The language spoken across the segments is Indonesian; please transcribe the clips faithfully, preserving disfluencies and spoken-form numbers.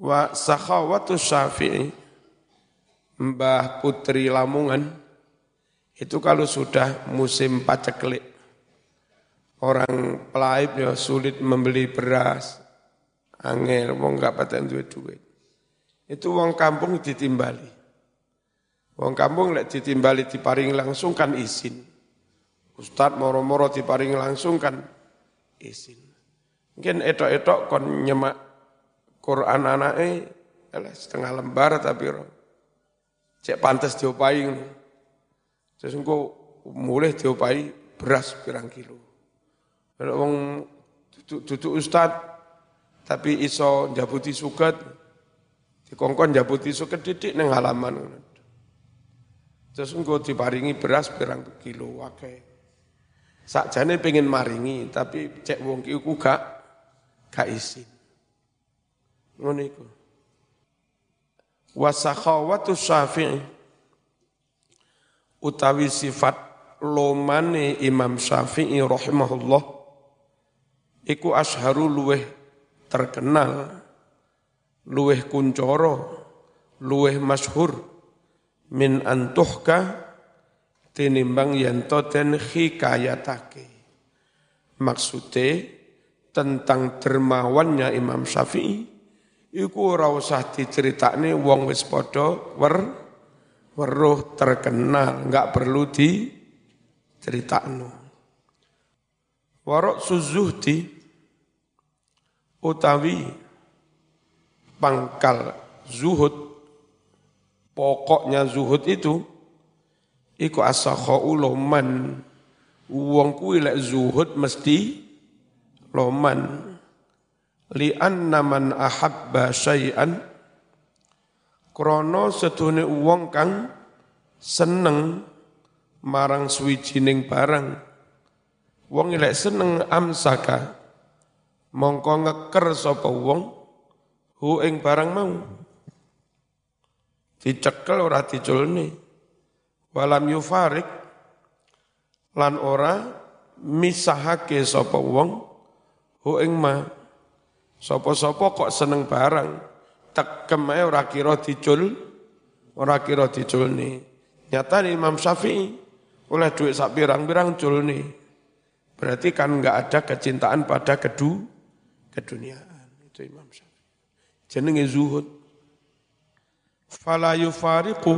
Wa sakhawatu Syafi'i, Mbah Putri Lamongan, itu kalau sudah musim paceklik, orang pelaib ya sulit membeli beras, angel, wong gak paten duit-duit. Itu wong kampung ditimbali. Wong kampung lek ditimbali diparing langsung kan izin. Ustadz moro-moro diparing langsung kan izin. Mungkin etok-etok kon nyemak Quran anake setengah lembar tapi cek pantes diopai. Terus engko mulih diopai beras pirang kilo. Kalau wong duduk ustad tapi iso njabuti suket, dikongkon njabuti suket didik ning halaman. Terus engko diparingi beras pirang kilo akeh. Sakjane pengen maringi tapi cek wong ki ku gak gak izin. Ngono iku. Wa sakhawatu Syafi'i, utawi sifat lomane Imam Syafi'i rahimahullah iku asharu luweh terkenal, luweh kuncoro, luweh masyhur min antuhka tinimbang yanto den hikayatake. Maksude tentang dermawannya Imam Syafi'i iku ora usah diceritakne wong wis padha wer weruh terkenal, enggak perlu diceritakno. Warok suzuhdi utawi pangkal zuhud, pokoknya zuhud itu iku asakhu loman. Wong kuwi lek zuhud mesti loman. Li anna man ahabba syai'an, krana sedune wong kang seneng marang suwijining barang. Wong lek seneng amsaka, mongko ngeker sapa wong hu ing barang mau. Dicekel ora diculne. Walam yufarik, lan ora misahake sapa wong hu ing ma. Sopo-sopo kok seneng barang, tekem ae ora kira dicul, ora kira diculne. Nyata Imam Syafi'i oleh duit sak pirang-pirang culne. Berarti kan enggak ada kecintaan pada kedu keduniaan. Itu Imam Syafi'i. Jenenge zuhud. Fala yufariqu,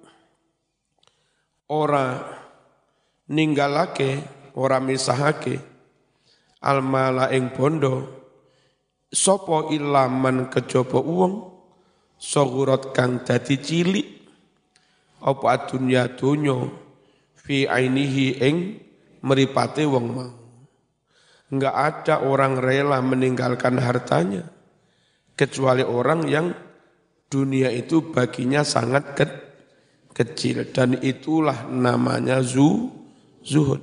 ora ninggalake, ora misahake almala ing bondo. Sopo ilaman kejaba wong sagurat kang dadi cilik apa adunya donya fi ainihi ing mripate wong mau. Enggak ada orang rela meninggalkan hartanya kecuali orang yang dunia itu baginya sangat ke, kecil dan itulah namanya zu, zuhud.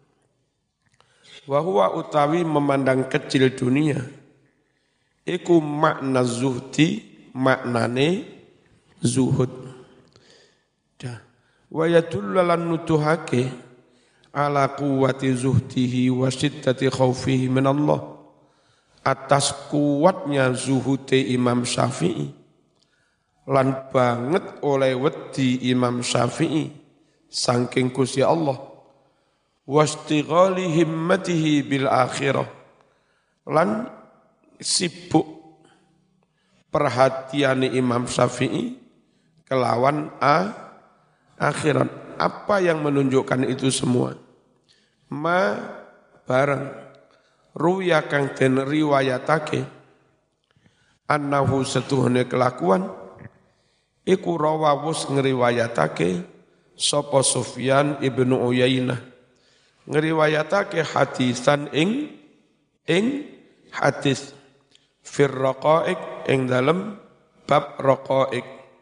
Wa huwa utawi memandang kecil dunia iku makna zuhdi, maknane zuhud. Dah. Wa yadullu lan nutuhake ala quwwati zuhdihi wa shiddati khaufihi min Allah. Atas kuatnya zuhude Imam Syafi'i lan banget oleh wedi Imam Syafi'i saking Gusti Allah. Wastighali himmatihi bil akhirah, lan sibuk perhatian Imam Syafi'i kelawan a akhirat. Apa yang menunjukkan itu semua? Ma barang ruya kang den riwayatake annahu setuhune kelakuan iku rawawus ngriwayatake sapa Sufyan ibnu Uyainah ngriwayatake hadisan ing ing hadis fir raqaiq ing dalem bab raqaiq.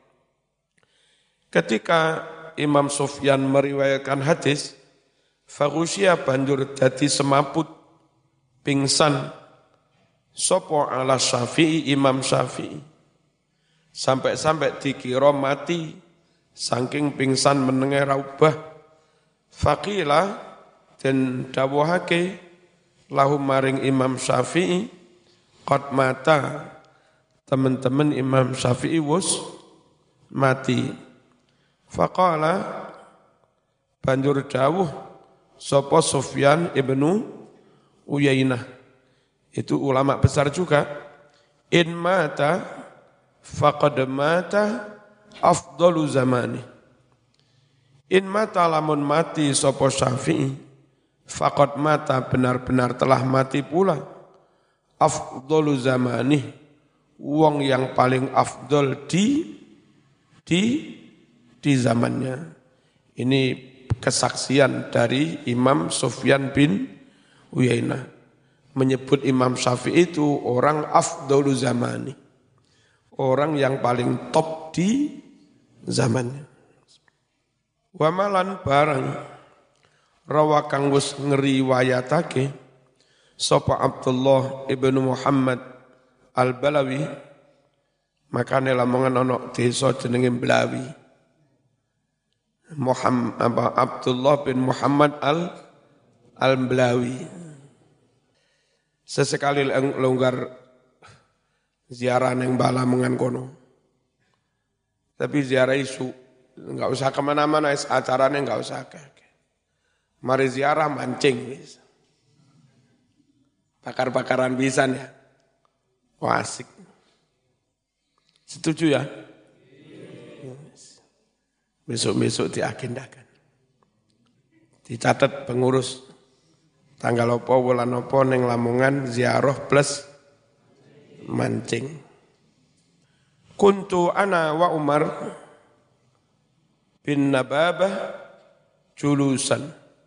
Ketika Imam Sufyan meriwayatkan hadis, faghusya banjur dadi semaput pingsan sapa ala Syafi'i Imam Syafi'i. Sampai-sampai dikira mati saking pingsan menenge raubah. Faqila den dawuhake lahu maring Imam Syafi'i qad mata teman-teman Imam Syafi'i wus mati. Faqala banjur dawuh sapa Sufyan ibnu Uyainah, itu ulama besar juga, in mata faqad mata afdalu zamani. In mata lamun mati sapa Syafi'i, faqad mata benar-benar telah mati pula afdalu zamani, wong yang paling afdol di di di zamannya. Ini kesaksian dari Imam Sufyan bin Uyainah menyebut Imam Syafi'i itu orang afdalu zamani, orang yang paling top di zamannya. Wa malan barang rawa kang wis ngriwayatake sapa Abdullah ibnu Muhammad Al-Balawi, makane lamongan ana desa jenenge Blawi. Muhammad apa Abdullah bin Muhammad Al Al-Blawi. Sesekali longgar ziarah neng Balamongan kono. Tapi ziarah isu enggak usah kemana-mana, acaranya enggak usah. Mari ziarah mancing. Bakar-bakaran pisan ya. Wah, asik. Setuju ya? Besok-besok diagendakan. Dicatat pengurus tanggal apa bulan apa ning Lamongan ziarah plus mancing. Kuntu ana wa Umar bin Nababah julusan.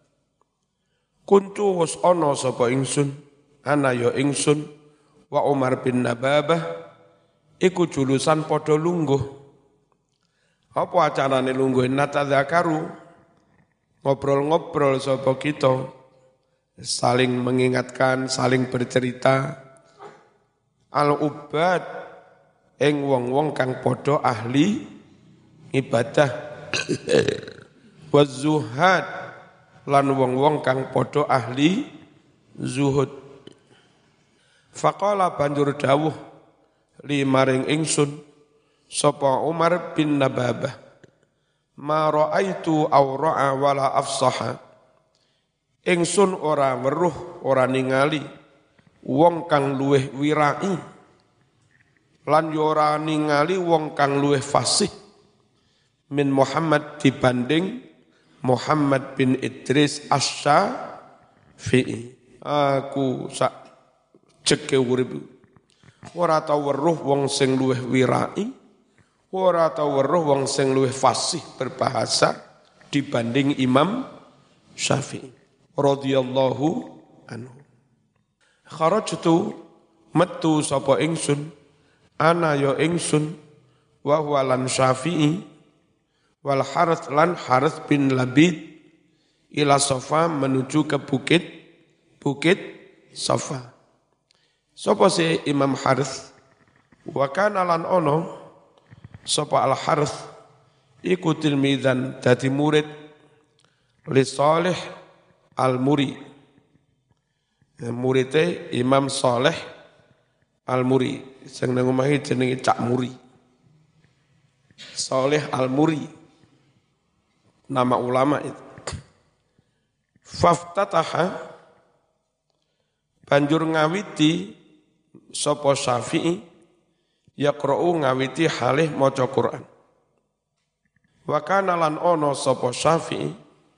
Kuntu was ana sapa ingsun, ana ya ingsun wa Umar bin Nababah iku julusan padha lungguh. Apa acarane lungguh? Natadzakaru, ngobrol-ngobrol sapa kita, saling mengingatkan, saling bercerita. Al-ubad, ing wong-wong kang padha ahli ibadah. Waz-zuhad, lan wong-wong kang padha ahli zuhud. Faqala banjur dawuh li maring ingsun sapa Umar bin Nababah, ma ra'aitu awra'a wala afsaha. Ingsun ora weruh, ora ningali wong kang luweh wirai, lan yo ora ningali wong kang luweh fasih min Muhammad dibanding Muhammad bin Idris Asy-Syafi'i. Aku sak jeke urip ora tau weruh wong sing luweh wirai, ora tau weruh wong sing luwih fasih berbahasa dibanding Imam Syafi'i radhiyallahu anhu. Kharajtu metu sapa ingsun, ana ya ingsun wa huwa lan Syafi'i wal Harits lan Harits bin Labid ila Safa menuju ke bukit bukit Safa. Sapa si Imam Harits? Wa kana lan ono sapa Al-Harits iku tilmidzan dadi murid li Shalih Al-Muri. Muridé Imam Shalih Al-Muri sing nang omahe jenenge Cak Muri. Shalih Al-Muri nama ulama itu. Faftataha banjur ngawiti sapa Syafi'i yaqra'u ngawiti halih maca Quran. Wa kana lan ono sapa Syafi'i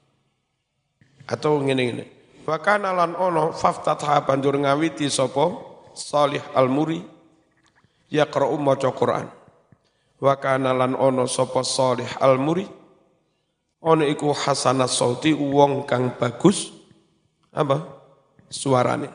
atau ngene-ngene. Wa kana lan ono faftatha banjur ngawiti sapa Shalih Al-Muri yaqra'u maca Quran. Wa kana lan ono sapa Shalih Al-Muri ono iku hasanah sauti wong kang bagus apa suarane.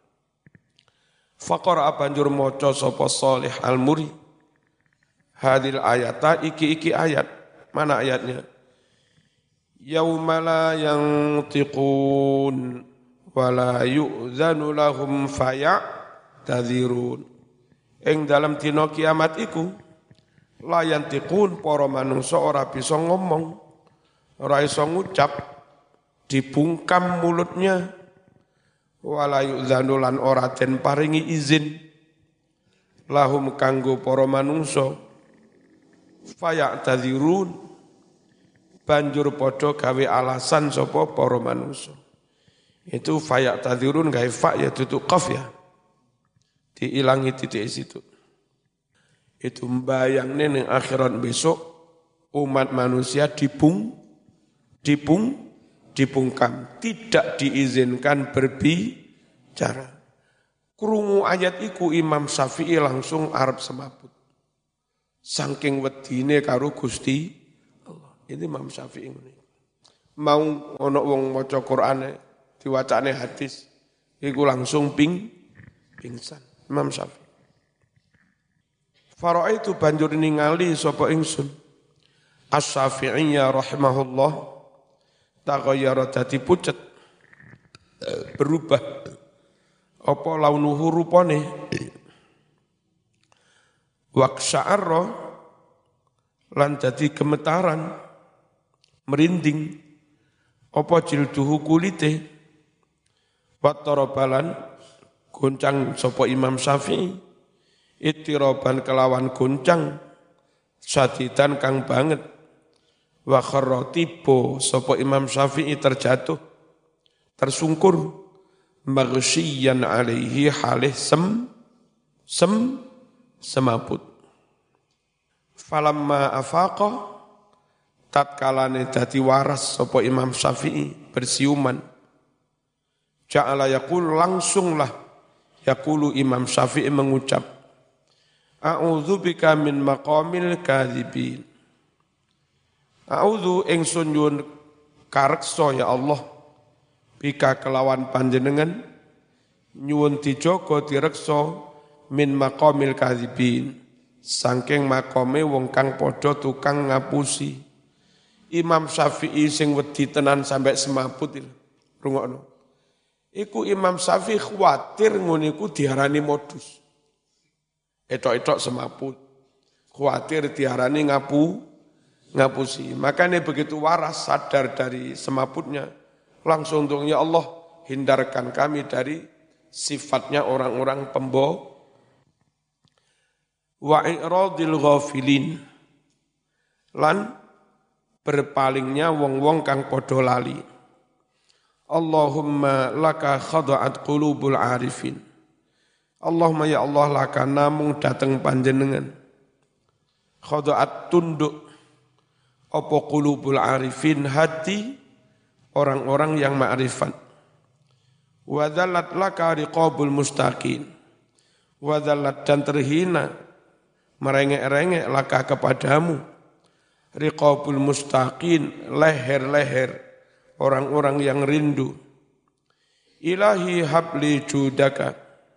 Faqara banjur maca sapa Shalih Al-Muri hadil ayata iki-iki ayat. Mana ayatnya? Yauma la yantiqun wa la yu'zanu lahum faya'tadzirun. Ing dalam dina kiamat iku la yantiqun para manungsa ora bisa ngomong, ora iso ngucap, dibungkam mulutnya. Wala yu'zanu lan ora den paringi izin lahum kanggo para manungsa faya'tadzirun banjur padha gawe alasan sapa para manungsa. Itu faya'tadzirun gawe fa ya tutu qaf ya. Diilangi titik situ. Itu mbayangne ning akhirat besok umat manusia dipung dipung dipungkam, tidak diizinkan berbicara. Krungu ayat iku Imam Syafi'i langsung arep semaput. Saking wedine karo Gusti Allah. Ini Imam Syafi'i ngene. Mau ana wong maca Qur'ane diwacane hadis iku langsung ping pingsan. Imam Syafi'i. Faraitu banjur ningali sapa ingsun Asy-Syafi'iyya rahimahullah taghayyara dadi pucet berubah apa launuhu rupane waqsa'arra lan dadi gemetaran merinding apa jilduhu kulite wattarabalan goncang sapa Imam Syafi'i itiraban kelawan goncang sadidan kang banget wa kharra tiba sapa Imam Syafi'i terjatuh tersungkur maghsyiyan alaihi halih sem sem semaput falamma afaqa tatkalane dadi waras sapa Imam Syafi'i bersiuman ja'ala yaqul langsunglah yaqulu Imam Syafi'i mengucap a'udzu bika min maqamil kadzibin. A'udzu ingsun nyuwun kareksa ya Allah bika kelawan panjenengan nyuwun dijaga direksa min maqamil kadzibin saking makome wong kang padha tukang ngapusi. Imam Syafi'i sing wedi tenan sampai semaput iki. Rungokno. Iku Imam Syafi'i khawatir ngono iku diarani modus. Etok-etok semaput, khawatir diarani ngapu, ngapusi. Makanya begitu waras sadar dari semaputnya, langsung untuk ya Allah hindarkan kami dari sifatnya orang-orang pembo. Wa i'radil ghafilin lan berpalingnya wong-wong kang padha lali. Allahumma laka khada'at qulubul arifin. Allahumma ya Allah laka namung dateng panjenengan. Khada'at tunduk apa qulubul arifin hati orang-orang yang ma'rifat. Wa dzallat laka riqabul mustaqin. Wa dzallat dan terhina merengek-rengek laka kepadamu. Riqabul mustaqin leher-leher orang-orang yang rindu. Ilahi habli judaka.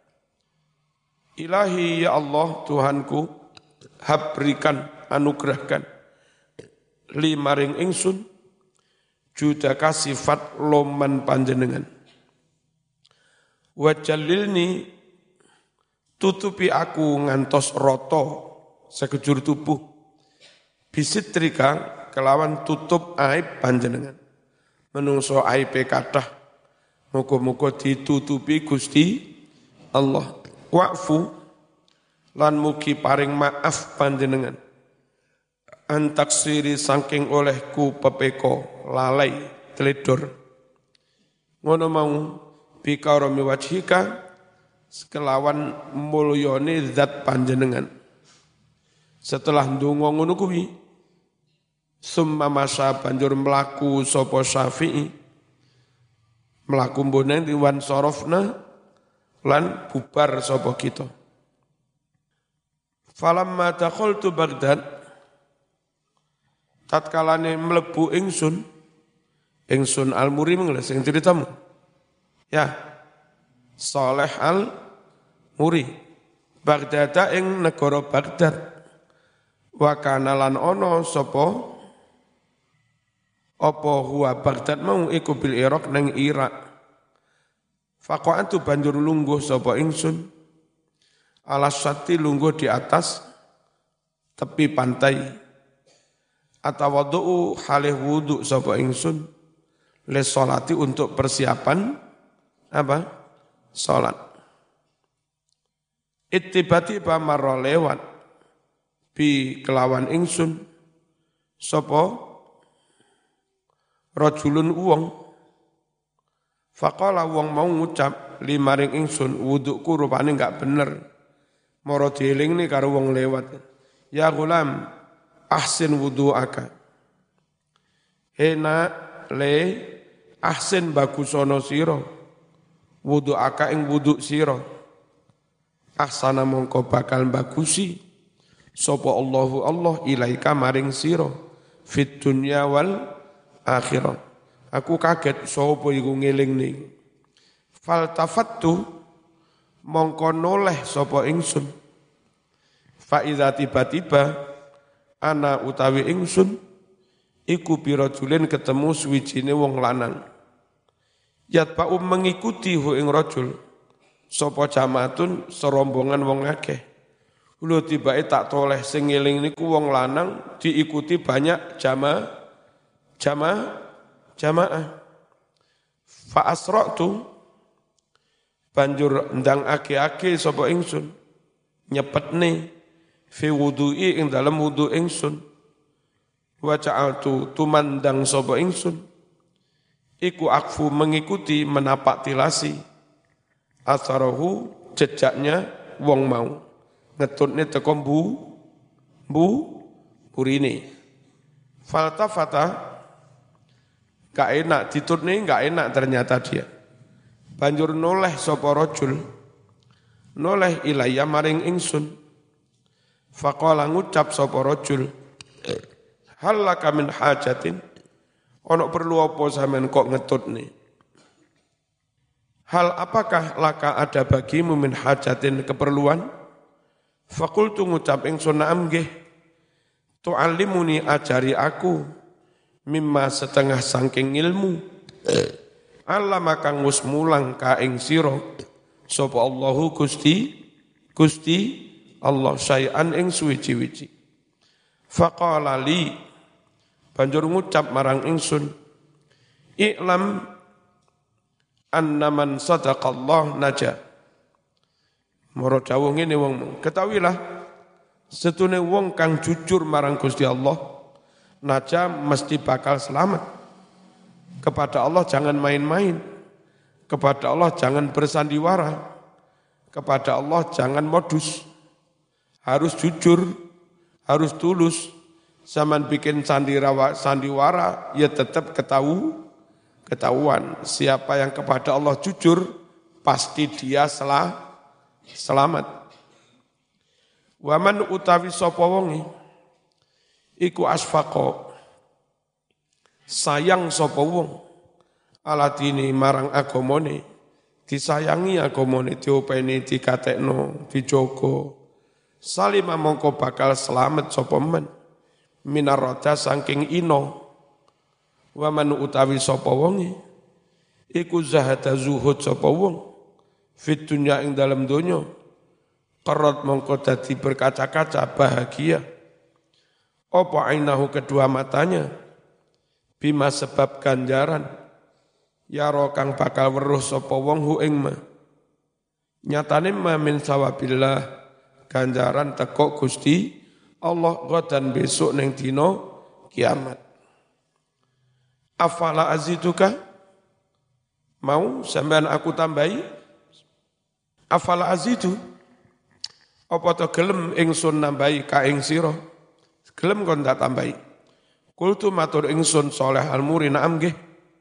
Ilahi ya Allah Tuhanku hab berikan anugerahkan li maring ingsun judaka sifat loman panjenengan wa jalilni tutupi aku ngantos roto sekejur tubuh bisitrika kelawan tutup aib panjenengan menungso aibe kathah muga-muga ditutupi Gusti Allah. Wa'fu lan mugi paring maaf panjenengan antaksiri saking olehku pepeko lalai teledor ngono mau bikarami wajhika sekelawan mulyane zat panjenengan setelah ndonga ngono kuwi summa masa banjur mlaku sapa Syafi'i mlaku mbone wan sorofna lan bubar sapa kita. Falamma dakhaltu Baghdad tatkalane mlebu ingsun ingsun Al-Muri menglah sing ceritamu. Ya. Saleh Al-Muri. Baghdad ing negara Baghdad. Wa kana lan ana sapa apa huwa Baghdad mau iku bil Irak nang Irak. Faqa'atu banjur lungguh sapa ingsun alas sati lungguh di atas tepi pantai atawadhu halih wudu sapa ingsun les salati untuk persiapan apa salat Ittibati-ba marra lewat bi kelawan ingsun sapa rajulun wong faqala wong mau ngucap limaring ingsun wuduku rupane enggak bener mara dielingne karo wong lewat ya gulam ahsin wudu'aka hena le ahsin bagusono sira wudu'aka ing wudu' sira ahsana mongko bakal bagusi sapa Allahu Allah ilaika maring sira fit dunya wal akhirah. Aku kaget sapa iku ngelingne. Faltafattu mongko noleh sapa ingsun. Fa iza tiba-tiba ana utawi ingsun iku pirajulin ketemu suwijine wong lanang. Yatba'u mengikuti hu ing rajul sapa jamaatun serombongan wong akeh. Lho tibake tak toleh sing ngeling niku wong lanang diikuti banyak jamaah jamaah jamaah. Fa asra'tu banjur ndang ake-ake sapa ingsun nyepetne fi wudu'i ing dalem wudu ingsun. Wa ja'altu tumandang sapa ingsun iku akfu mengikuti menapak tilasi asarahu jejaknya wong mau ngetutne teko mbu mbu burine faltafata gak enak ditutne gak enak ternyata dia banjur noleh sapa rajul noleh ilaya maring ingsun faqala ngucap sapa rajul hal laka min hajatin ono perlu apa sampean kok ngetutne hal apakah laka ada bagimu min hajatin keperluan faqultu ngucap ingsun na'am nggih tu'allimuni ajari aku mimma setengah saking ilmu allama kang wis mulang ka ing sira sapa Allahu Gusti Gusti Allah syai'an ing suwi-wiji faqala li banjur ngucap marang ingsun i'lam annaman sadaqallah naja mara dawuh ngene wong ketahuilah setune wong kang jujur marang Gusti Allah naja mesti bakal selamat kepada Allah jangan main-main kepada Allah jangan bersandiwara kepada Allah jangan modus harus jujur harus tulus zaman bikin sandiwara sandiwara ya tetap ketahu ketahuan siapa yang kepada Allah jujur pasti dia salah selamat. Waman utawi sapa wonge iku asfaqa sayang sapa wong aladini marang agamane disayangi agamane diopeni dikatekno dijogo salima mongko bakal selamat sapa men minarada saking ino waman utawi sapa wonge iku zahada zuhud sapa wong fit dunya ing dalam donya qarrat mongko dadi berkaca-kaca bahagia apa ainahu kedua matanya bima sebab ganjaran yaro kang bakal weruh sapa wong hu ing ma nyatane ma min sawabillah ganjaran teko Gusti Allah godan besok ning dina kiamat afala aziduka mau sampean aku tambahi afala azidu apa to gelem ingsun nambahi ka ing sira gelem kon tak tambahi kultu matur ingsun saleh al-muri na'am nggih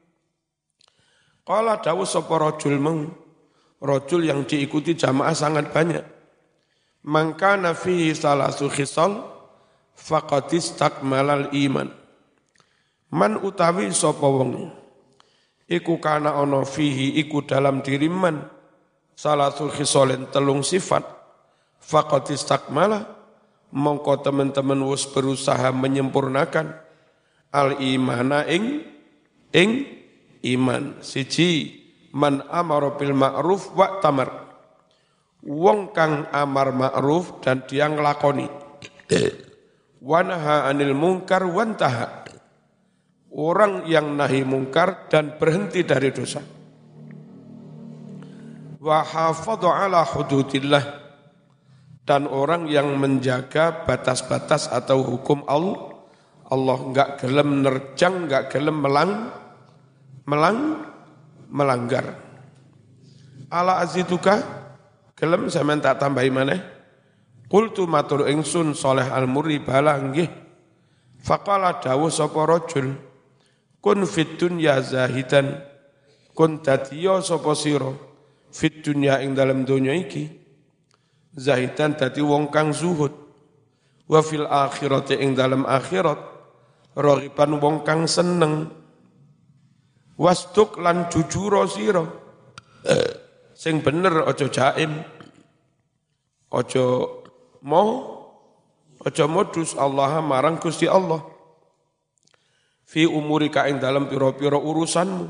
qala dawu sapa rajul meng rajul yang diikuti jamaah sangat banyak mangkana fihi salasu khisal faqad istakmalal iman man utawi sapa wong iku kana ana fihi iku dalam diri man salasul khisalin telung sifat faqad istakmala mongko teman-teman wis berusaha menyempurnakan al imana ing ing iman siji man amara bil ma'ruf wa tamar wong kang amar ma'ruf dan dia nglakoni wa naha anil munkar wantaha orang yang nahi mungkar dan berhenti dari dosa wa hafadha ala hududillah dan orang yang menjaga batas-batas atau hukum Allah, Allah enggak gelem nerjang, enggak gelem melang, melang, melanggar. Ala azituka, gelem sampean tak tambahi maneh. Qultu matur ingsun Saleh Al-Murri bala nggih. Faqala dawuh sapa rajul, kun fid dunya zahidan, kun dadiya sapa sira fid dunya ing dalem donya iki zahidan dadi wong kang zuhud, wa fil akhirati ing dalem akhirat raghiban wong kang seneng, wastuk lan jujur sira sing bener aja jaim, aja mau, aja modus Allah marang Gusti Allah fi umurika ing dalem pira-pira urusanmu.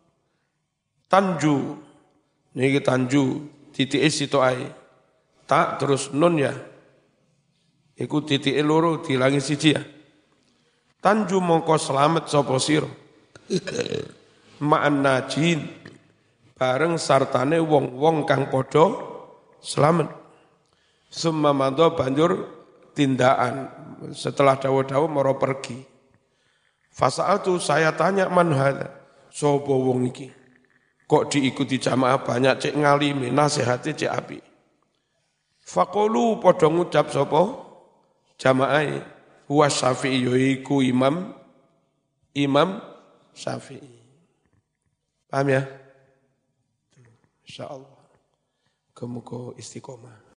Tanju niki tanju titike situ ae tak terus nun ya iku titike loro dilangi siji ya. Tanju mongko selamat sapa sira ma'an najin bareng sartane wong-wong kang padha selamat. Summa madha banjur tindakan setelah dawa-dawa mara pergi. Fasa'altu saya tanya man hadza sapa wong iki kok diikuti jamaah banyak cek ngalimi nasihate cek api. Faqulu padha ngucap sapa jamaah huwa Syafi'i yaiku imam imam Syafi'i. Paham ya? Insyaallah. Muga-muga istiqomah.